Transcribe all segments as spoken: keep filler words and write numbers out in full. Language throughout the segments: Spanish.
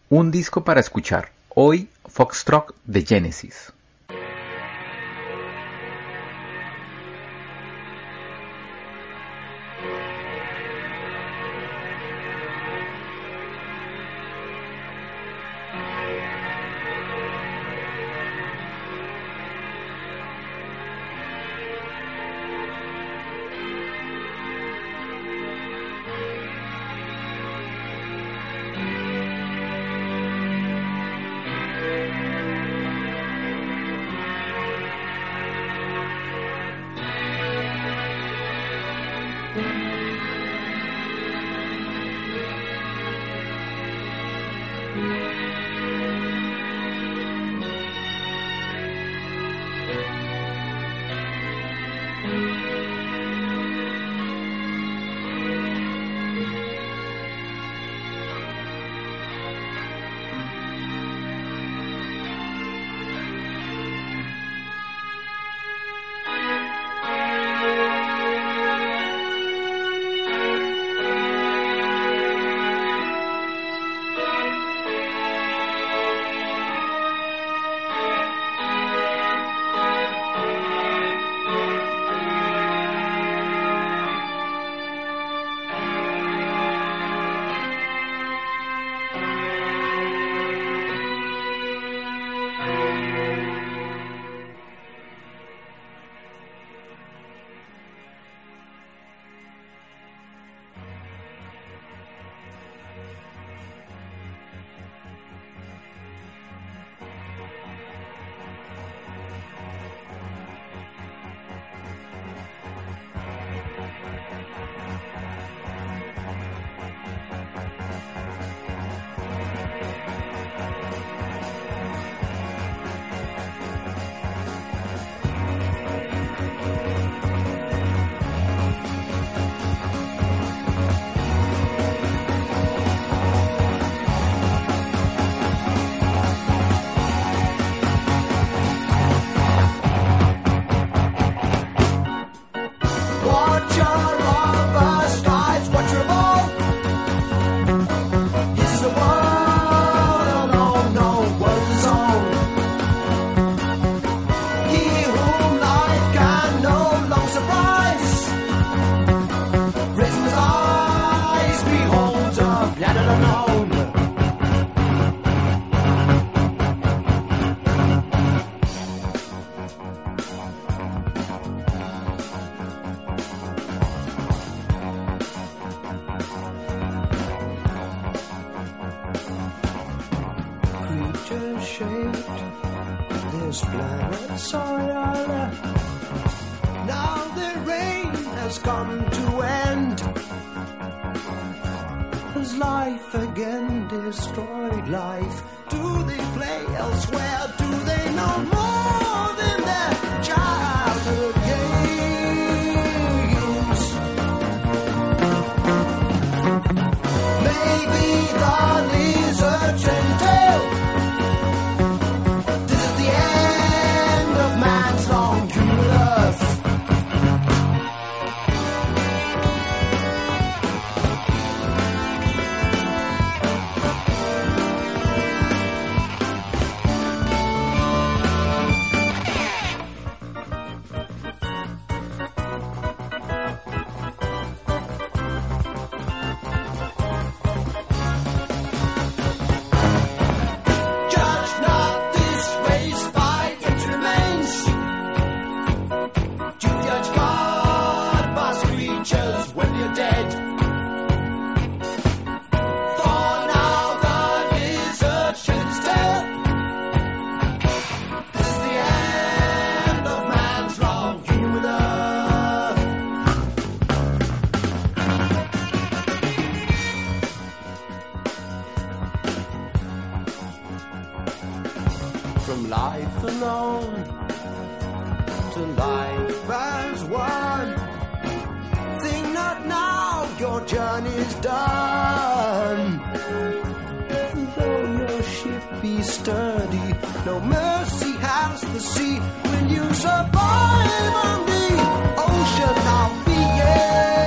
Un disco para escuchar. Hoy, Foxtrot de Genesis.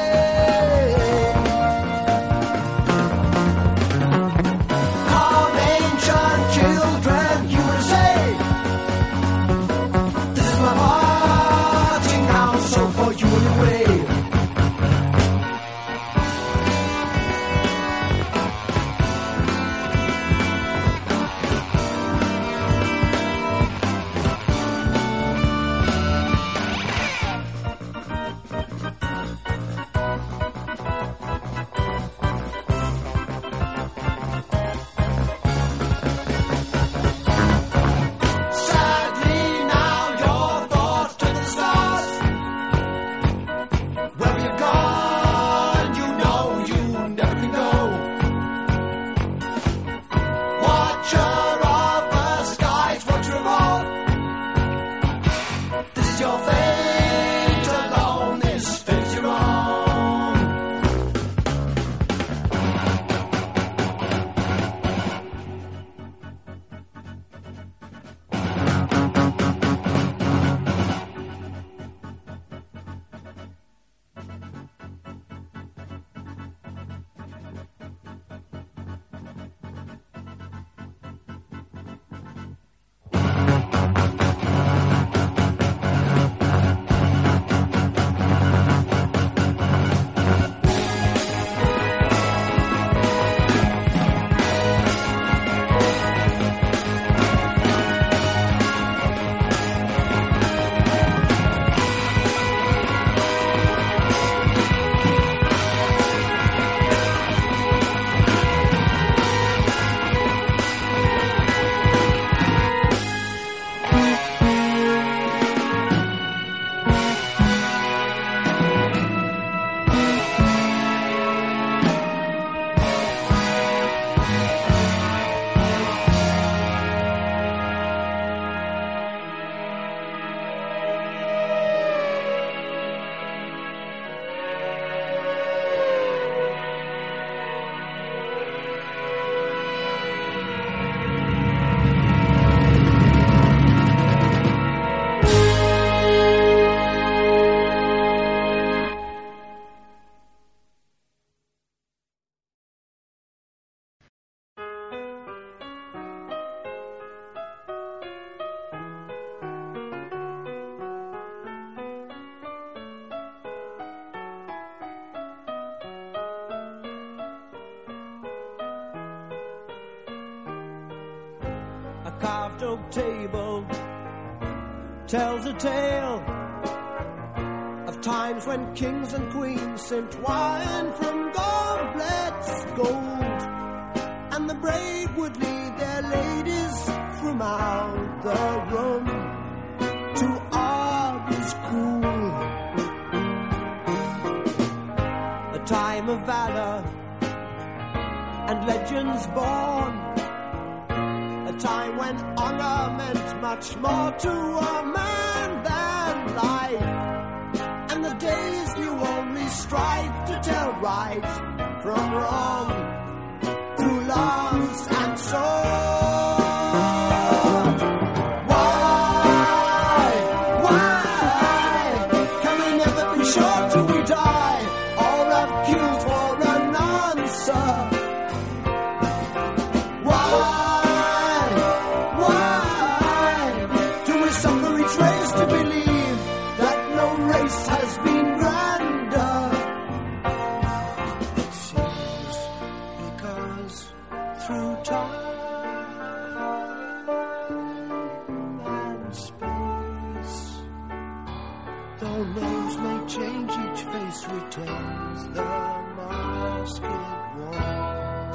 Call me carved oak table tells a tale of times when kings and queens sent wine from goblets gold, and the brave would lead their ladies from out the room to arbors cool. A time of valor and legends born, a time when honor meant much more to a man than life, and the days knew only strife to tell right from wrong through lance and sword. Why, why can we never be sure till we die, or have queued for an answer? To believe that no race has been grander. It seems because through time and space, though names may change, each face retains the masked one.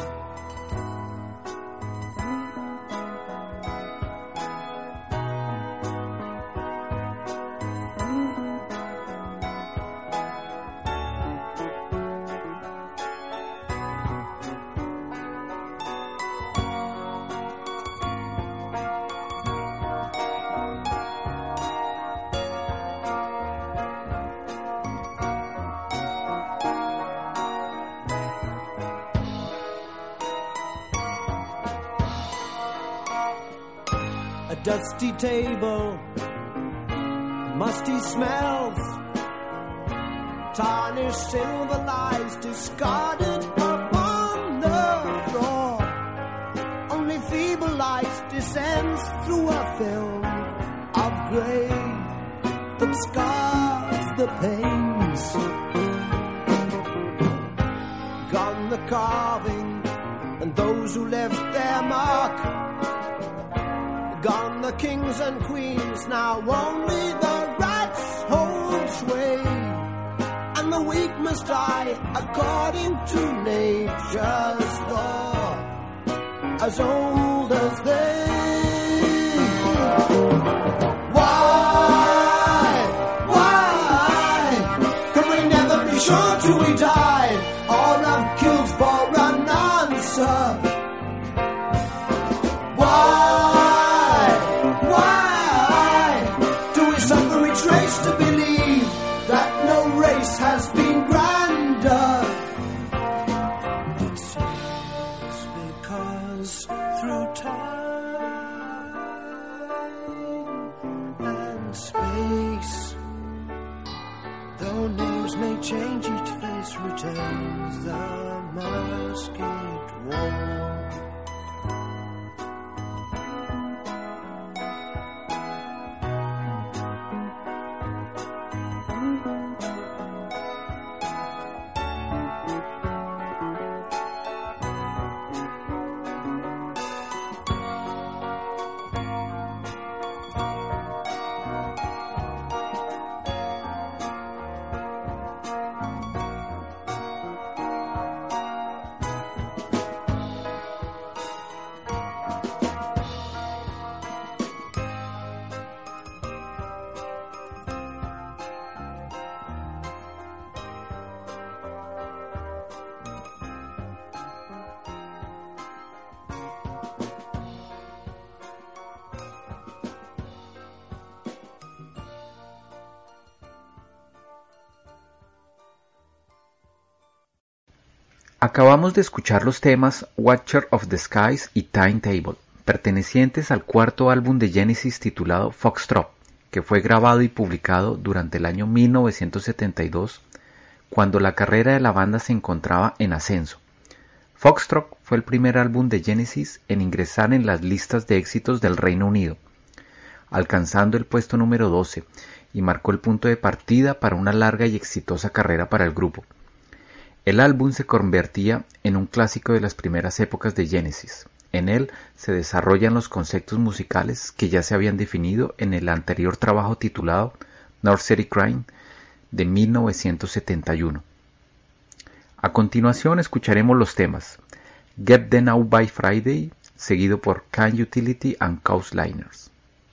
A dusty table, musty smells, tarnished silver lies discarded upon the floor. Only feeble light descends through a film of grey that scars the panes. Gone the carving and those who left their mark. Gone the kings and queens, now only the rats hold sway, and the weak must die according to nature's law, as old as they. Why, why can we never be sure till we die, or have killed for an answer? Why? To believe that no race has been grander. It seems because through time and space, though names may change, each face retains the masked one. Acabamos de escuchar los temas Watcher of the Skies y Timetable, pertenecientes al cuarto álbum de Genesis titulado Foxtrot, que fue grabado y publicado durante el año mil novecientos setenta y dos, cuando la carrera de la banda se encontraba en ascenso. Foxtrot fue el primer álbum de Genesis en ingresar en las listas de éxitos del Reino Unido, alcanzando el puesto número doce, y marcó el punto de partida para una larga y exitosa carrera para el grupo. El álbum se convertía en un clásico de las primeras épocas de Genesis, En él se desarrollan los conceptos musicales que ya se habían definido en el anterior trabajo titulado Nursery Crime de mil novecientos setenta y uno. A continuación escucharemos los temas Get Them Out by Friday, seguido por Can Utility and Coastliners.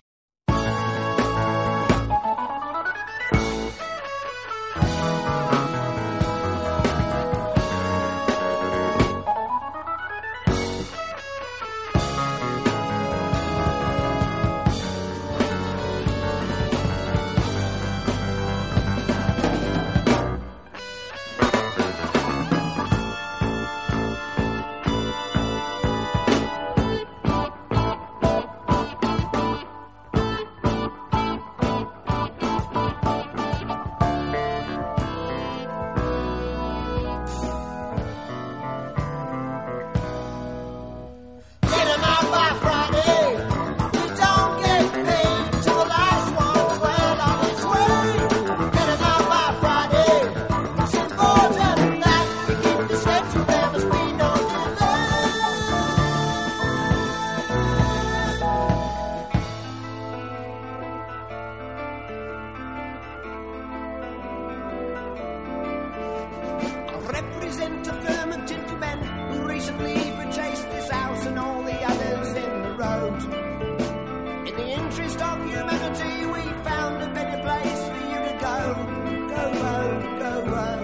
Represent a firm of gentlemen who recently purchased this house and all the others in the road. In the interest of humanity, we found a better place for you to go. Go road, go road.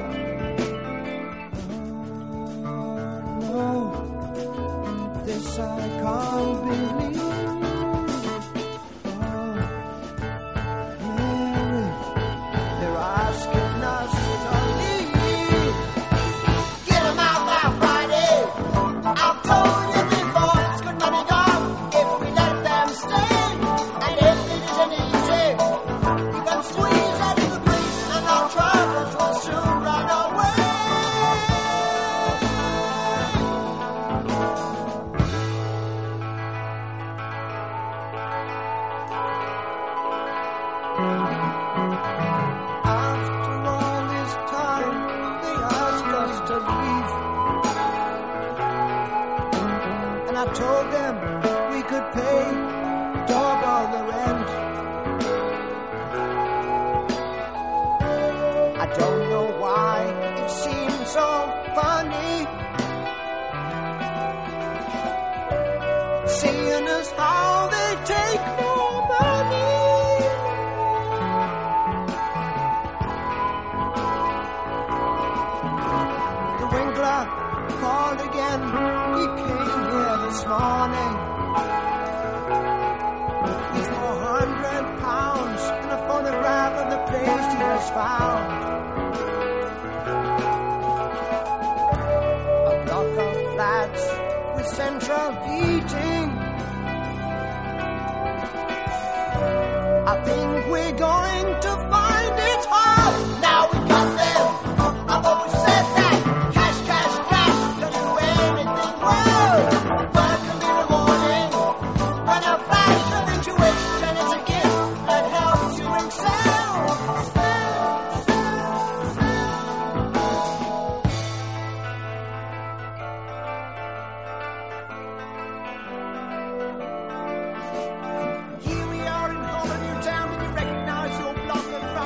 Oh, no, this I can't believe. Oh, Mary, they're asking us to leave. I've told you before, it's good money gone if we let them stay. And if it isn't easy, you can squeeze out of the police and our troubles will soon run away. After all this time, they ask us to leave. I told them we could pay double the rent. I don't know why it seems so funny seeing us how they take more money. The Winkler called again. He came here this morning with four hundred pounds and a photograph of the place he has found. A block of flats with central heating. I think we're going to find it hard. Now we got them. I've always said that. Cash, cash, cash. Don't do anything wrong. Work in the morning. When a flash of intuition is a gift that helps you excel. Here we are in Hollywood town, and you recognize your block of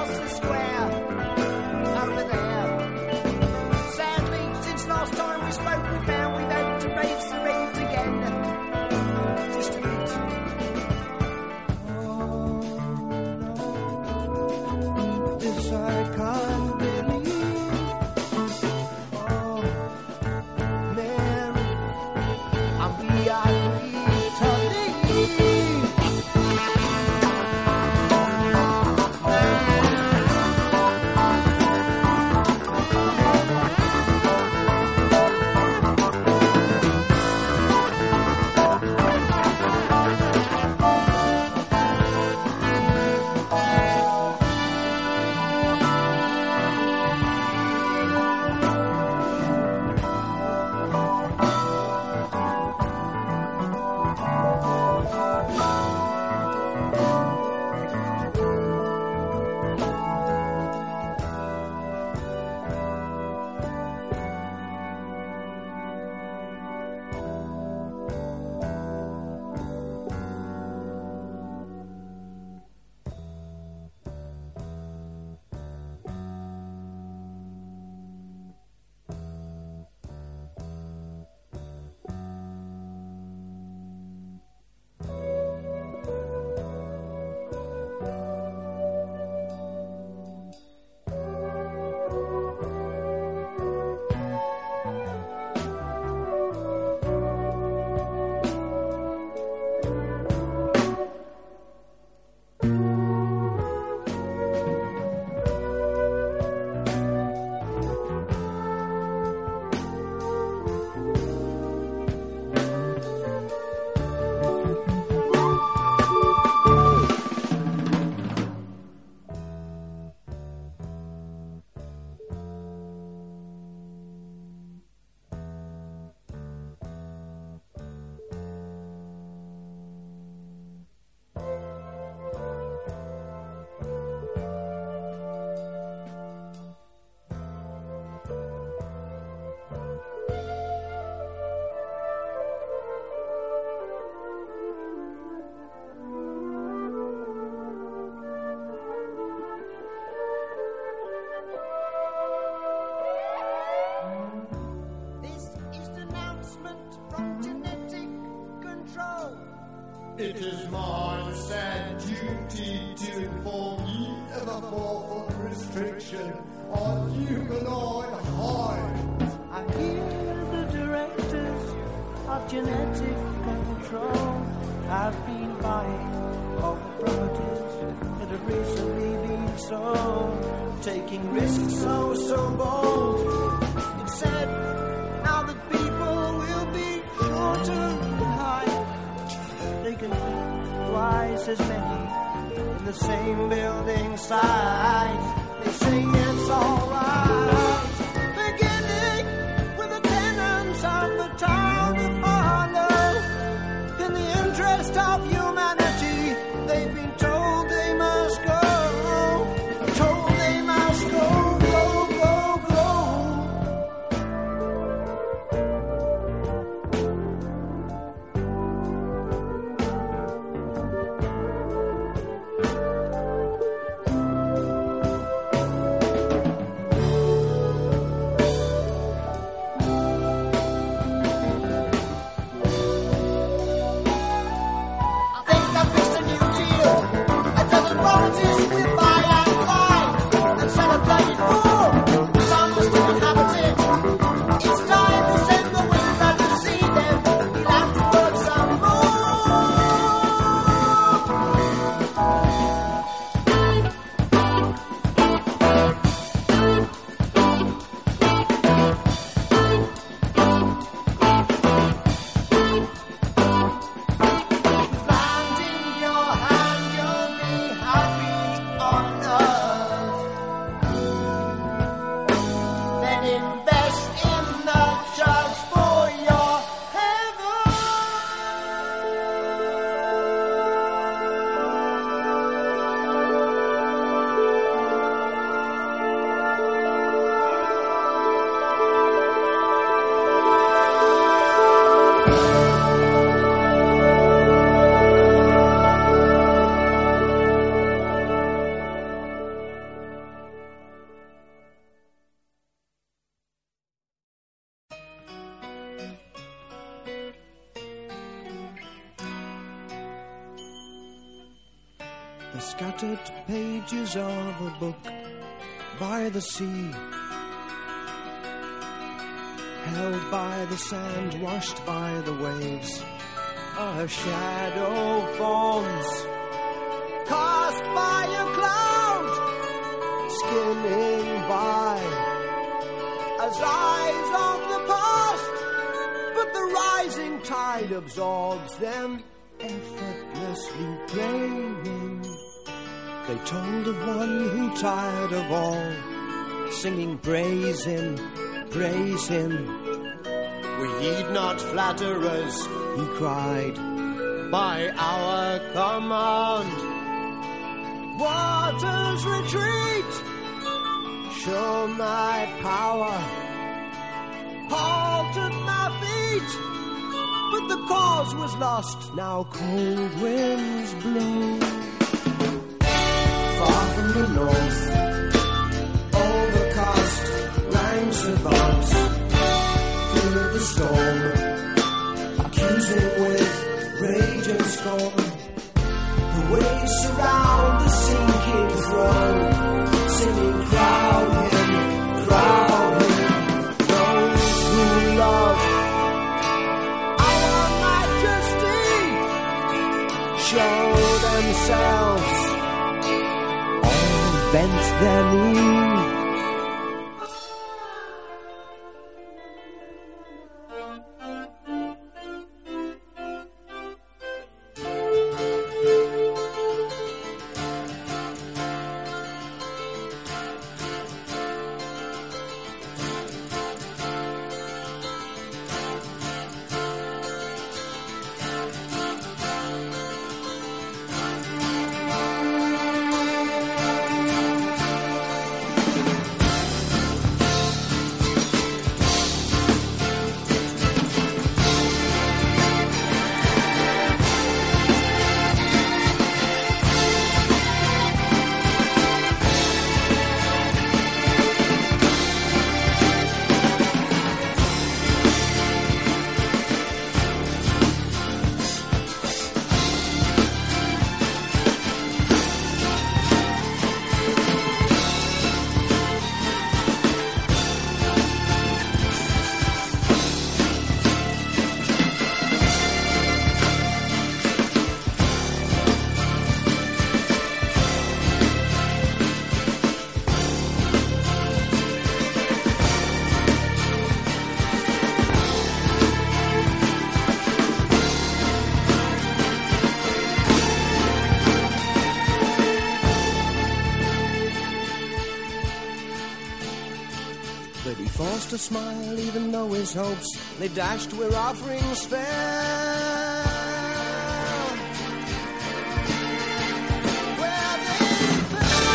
It is my sad duty to inform you of a formal restriction on humanoid hides. I hear the directors of genetic control have been buying all the properties that have recently been sold, taking risks so, so bold. It said now that people will be sure to hide, they can keep twice as many in the same building site. They say it's alright, beginning with the tenants of the town to follow. In the interest of humanity, they've been told they must go, told they must go, go, go, go. The scattered pages of a book by the sea, held by the sand, washed by the waves. A shadow forms, cast by a cloud, skimming by, as eyes of the past. But the rising tide absorbs them, effortlessly draining. They told of one who, tired of all, singing praise him, praise him. We heed not flatterers, he cried, by our command. Waters retreat, show my power, halted my feet. But the cause was lost, now cold winds blow. Far from the north, overcast ranks about, through the storm, accusing with rage and scorn. The waves surround the sinking throne, singing, crowd him, crowd him. Those who love our majesty show themselves, all bent their knee. to smile even though his hopes they dashed where offerings fell. Where they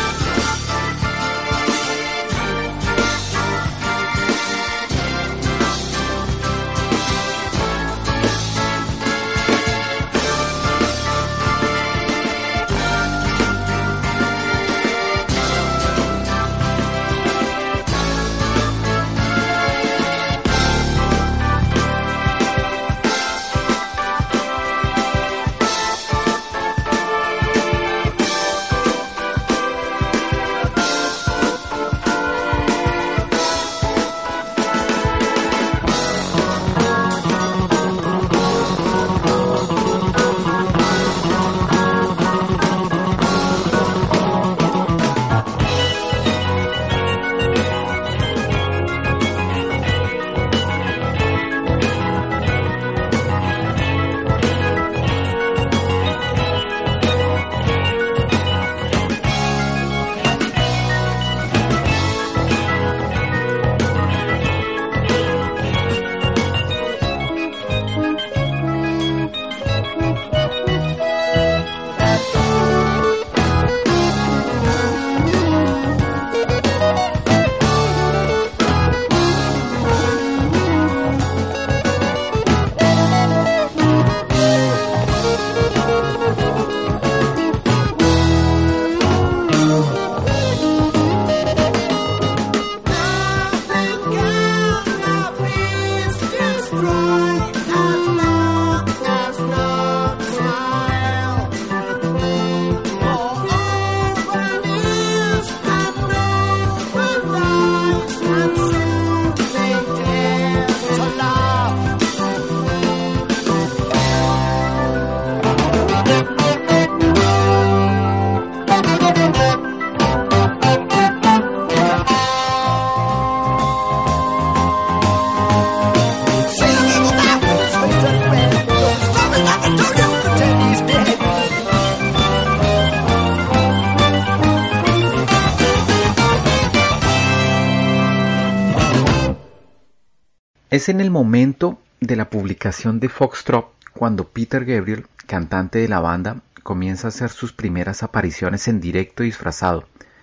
Es en el momento de la publicación de Foxtrot cuando Peter Gabriel, cantante de la banda, comienza a hacer sus primeras apariciones en directo disfrazado,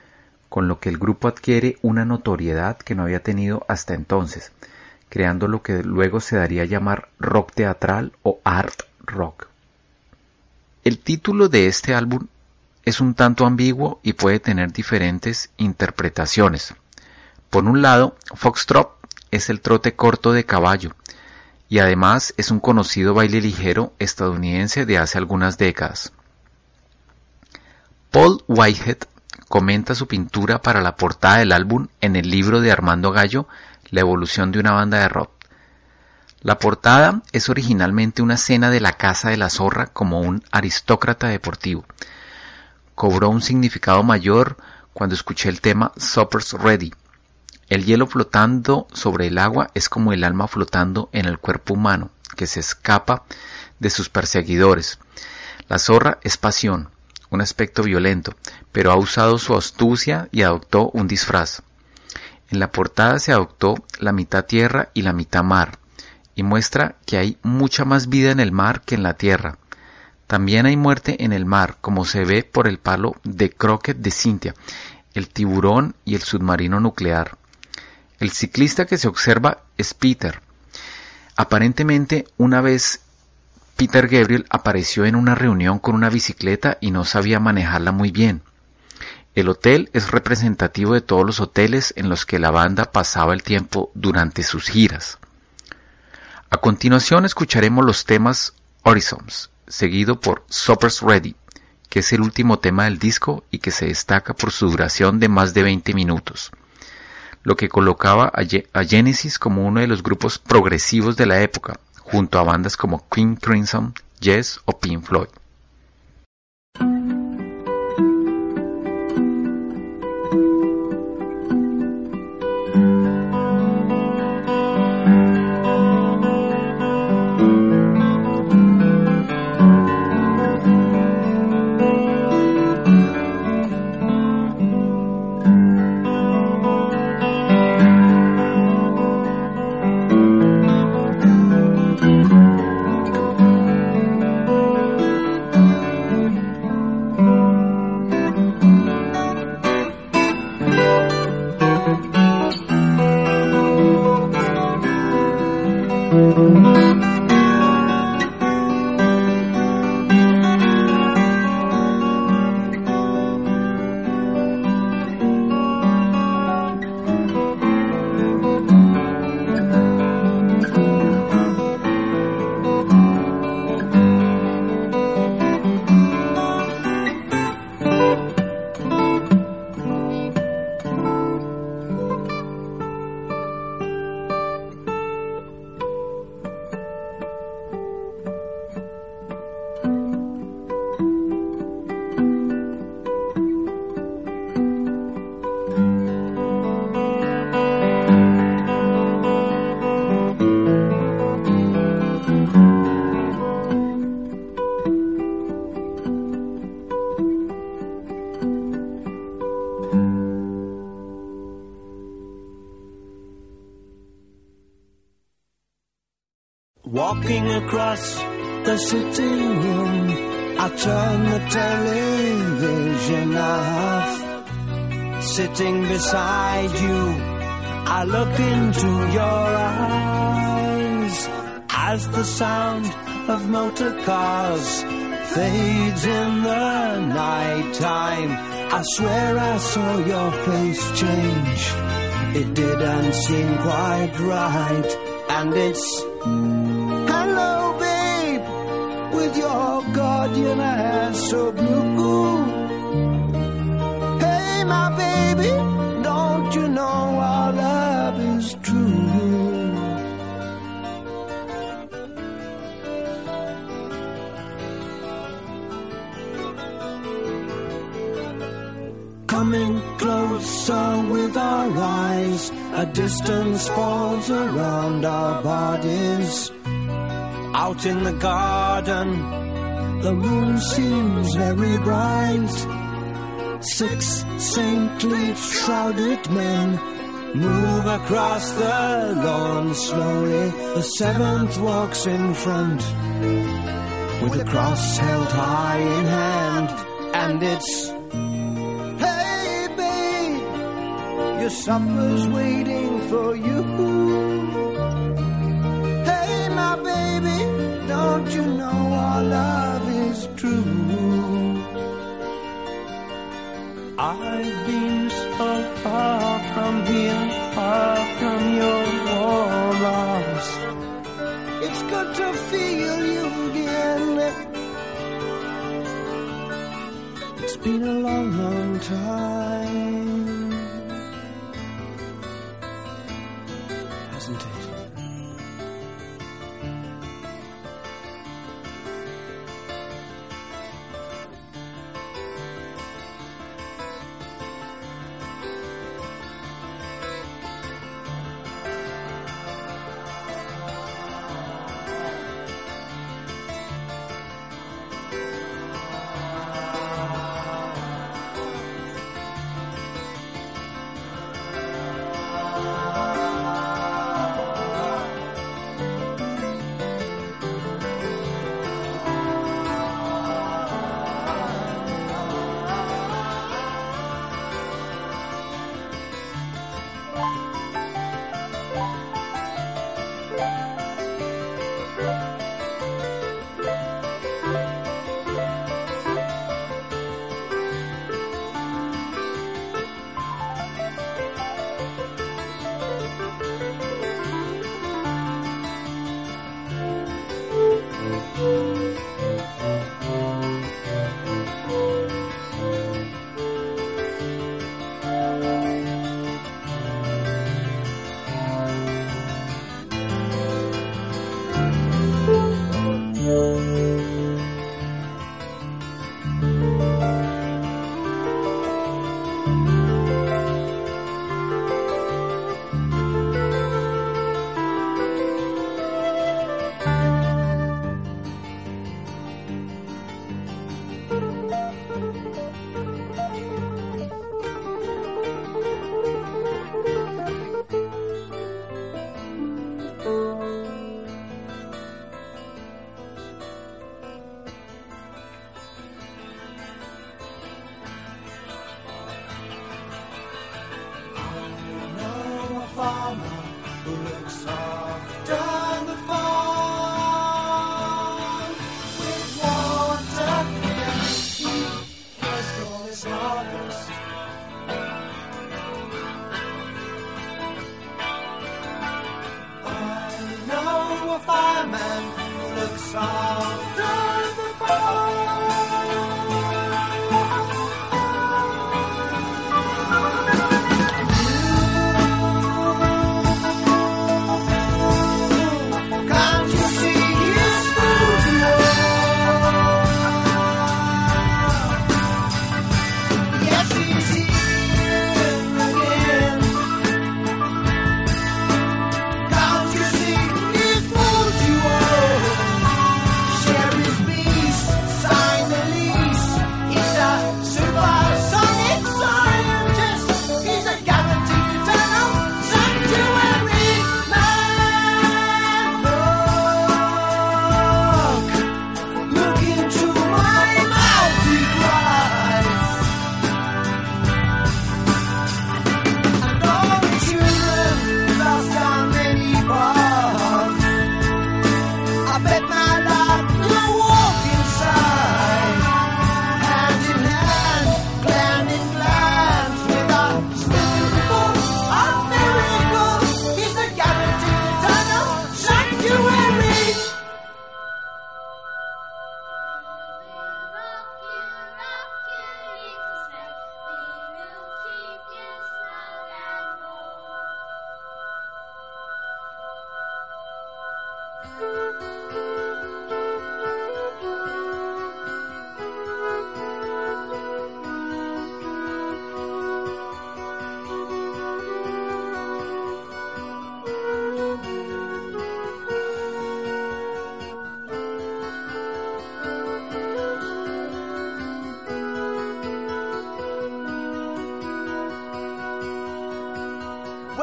con lo que el grupo adquiere una notoriedad que no había tenido hasta entonces, creando lo que luego se daría a llamar rock teatral o art rock. El título de este álbum es un tanto ambiguo y puede tener diferentes interpretaciones. Por un lado, Foxtrot es el trote corto de caballo, y además es un conocido baile ligero estadounidense de hace algunas décadas. Paul Whitehead comenta su pintura para la portada del álbum en el libro de Armando Gallo, La evolución de una banda de rock. La portada es originalmente una escena de la caza de la zorra como un aristócrata deportivo. Cobró un significado mayor cuando escuché el tema Supper's Ready. El hielo flotando sobre el agua es como el alma flotando en el cuerpo humano, que se escapa de sus perseguidores. La zorra es pasión, un aspecto violento, pero ha usado su astucia y adoptó un disfraz. En la portada se adoptó la mitad tierra y la mitad mar, y muestra que hay mucha más vida en el mar que en la tierra. También hay muerte en el mar, como se ve por el palo de croquet de Cynthia, el tiburón y el submarino nuclear. El ciclista que se observa es Peter. Aparentemente, una vez Peter Gabriel apareció en una reunión con una bicicleta y no sabía manejarla muy bien. El hotel es representativo de todos los hoteles en los que la banda pasaba el tiempo durante sus giras. A continuación escucharemos los temas Horizons, seguido por Supper's Ready, que es el último tema del disco y que se destaca por su duración de más de veinte minutos. Lo que colocaba a Genesis como uno de los grupos progresivos de la época, junto a bandas como King Crimson, Yes o Pink Floyd. Looking across the sitting room, I turn the television off. Sitting beside you, I look into your eyes as the sound of motor cars fades in the night time. I swear I saw your face change. It didn't seem quite right. And it's hello, babe, with your guardian hair so blue. Hey, my baby, don't you know our love is true? Coming closer with our eyes, a distance falls around our bodies. Out in the garden, the moon seems very bright. Six saintly shrouded men move across the lawn slowly. The seventh walks in front with a cross held high in hand. And it's, hey babe, your supper's waiting for you. Hey my baby, don't you know our love is true? I've been so far from here, far from your warm arms. It's good to feel you again. It's been a long, long time, hasn't it?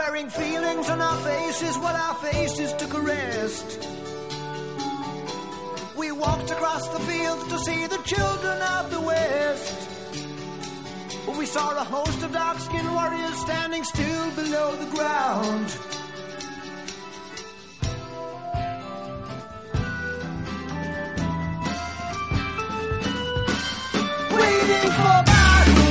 wearing feelings on our faces, what our faces took a rest. We walked across the fields to see the children of the West. We saw a host of dark-skinned warriors standing still below the ground. Waiting for battle.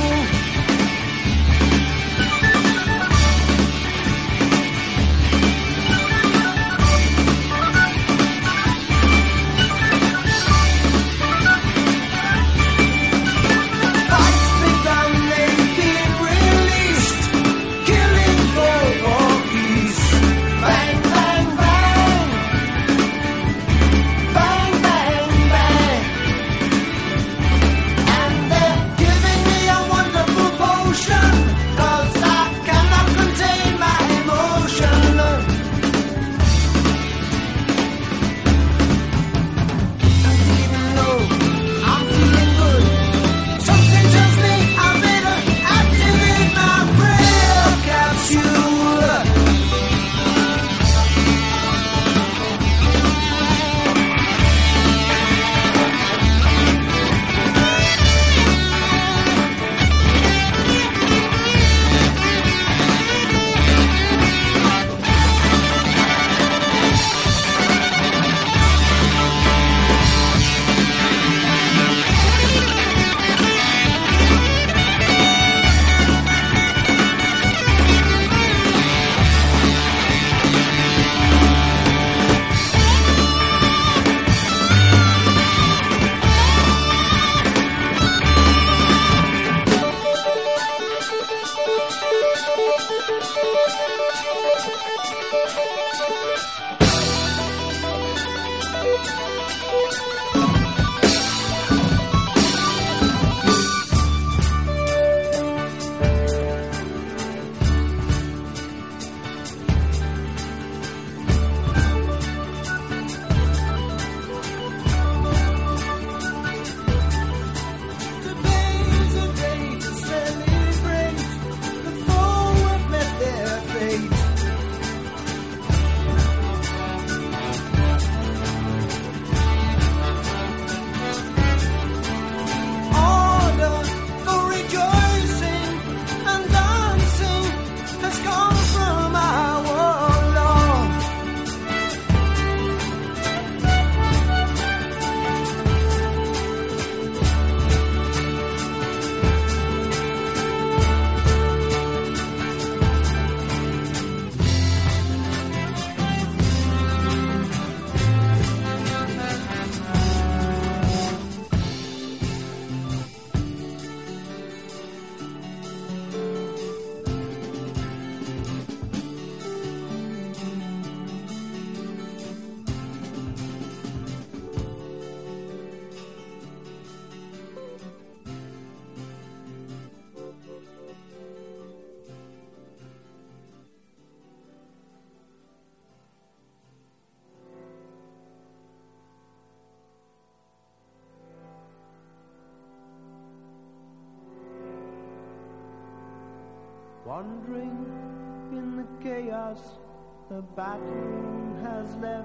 Wandering in the chaos the battle has left,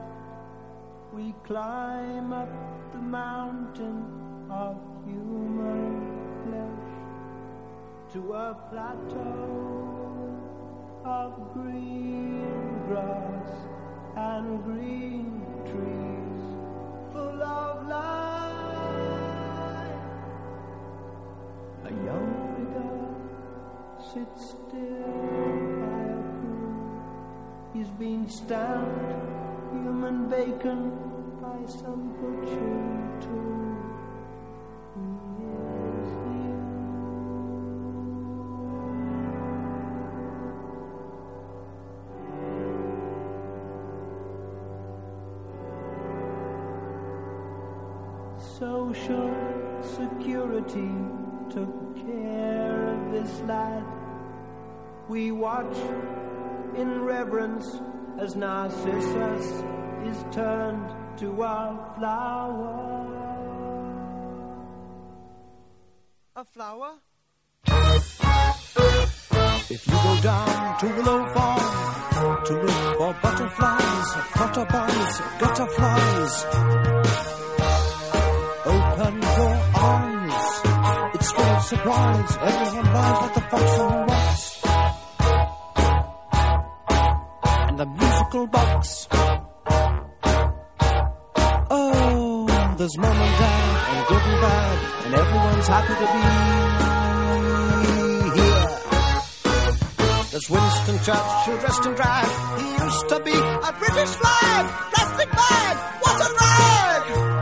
we climb up the mountain of human flesh to a plateau of green grass and green trees full of life. A young figure sits still by a pool. He's been stamped human bacon by some butchering tool. He is you. Social security took care of this lad. We watch in reverence as Narcissus is turned to a flower. A flower? If you go down to Willow Farm to look for butterflies, flutterbugs, gutterflies, open your eyes. It's full of surprise. Everyone lies like the fox on the rocks. And the musical box. Oh, there's mom and dad, and good and bad, and everyone's happy to be here. There's Winston Churchill dressed in drag. He used to be a British flag. Plastic bag, what a rag!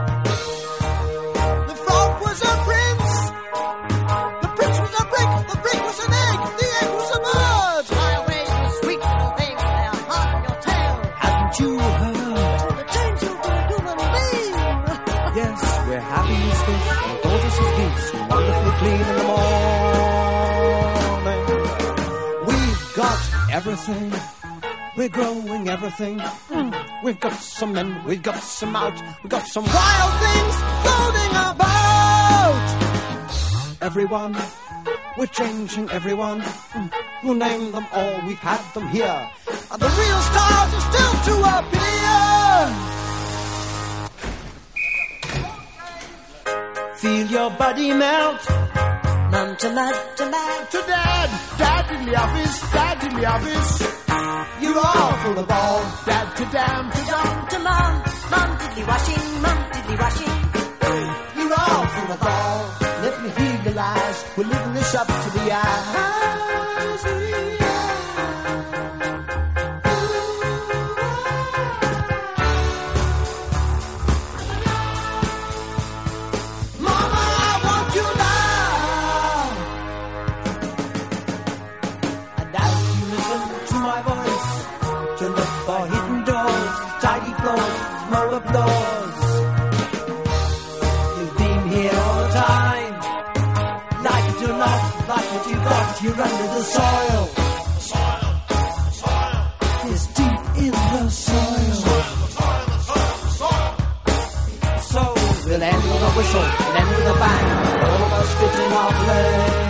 The frog was a prince. The prince was a brick. The brick was an egg. The egg was a bird. Fly away, you sweet little thing. They'll harm your tail. Haven't you heard? The change you to a human being. Yes, we're happy as fish and gorgeous as geese and wonderfully clean in the morning. We've got everything. We're growing everything. Mm. We've got some men, we've got some out. We've got some wild things floating about. Everyone, we're changing everyone. Mm. We'll name them all, we've had them here. And the real stars are still to appear. Feel your body melt. Mum to lad to lad. To dad, dad in the office, dad in the office. You're all full of ball. Dad to dam, to dam. To mum, mum diddly washing, mum diddly washing. You're all full of ball. Let me hear your lies. We're living this up to the eyes. Applause. You've been here all the time. Like it or not, like what you got, you're under the soil. Soil, soil. It's deep in the soil. So we'll end with a whistle, and end with a bang. All of us fit in our places.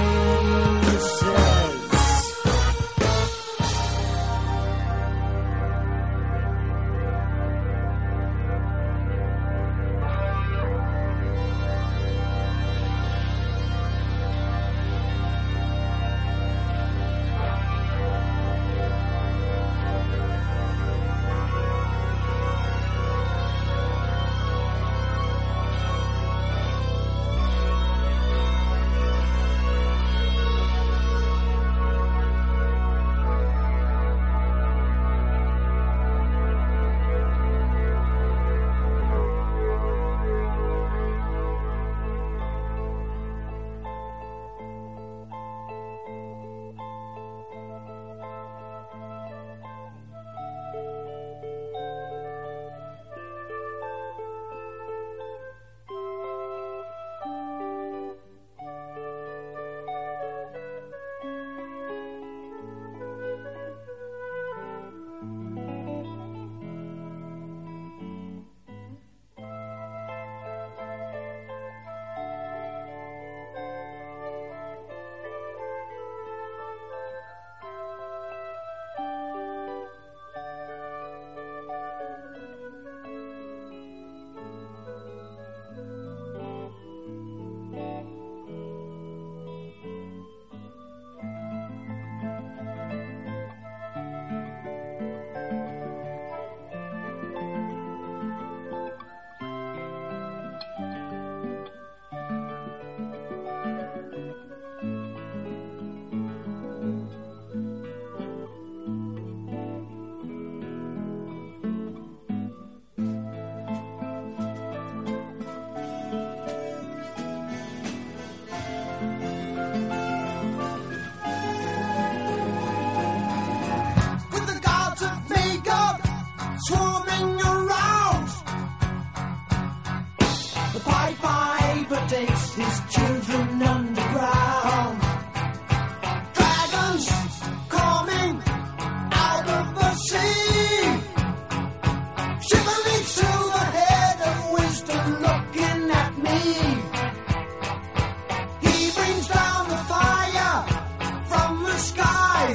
Sky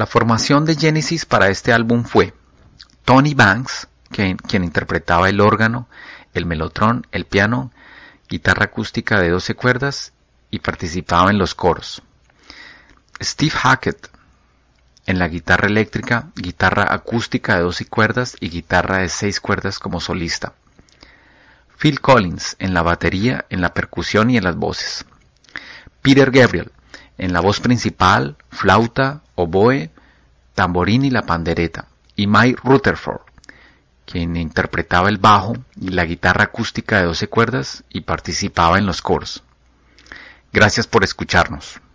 La formación de Genesis para este álbum fue Tony Banks, quien, quien interpretaba el órgano, el mellotron, el piano, guitarra acústica de doce cuerdas y participaba en los coros. Steve Hackett en la guitarra eléctrica, guitarra acústica de doce cuerdas y guitarra de seis cuerdas como solista. Phil Collins en la batería, en la percusión y en las voces. Peter Gabriel en la voz principal, flauta, oboe, tamborín y la pandereta. Y Mike Rutherford, quien interpretaba el bajo y la guitarra acústica de doce cuerdas y participaba en los coros. Gracias por escucharnos.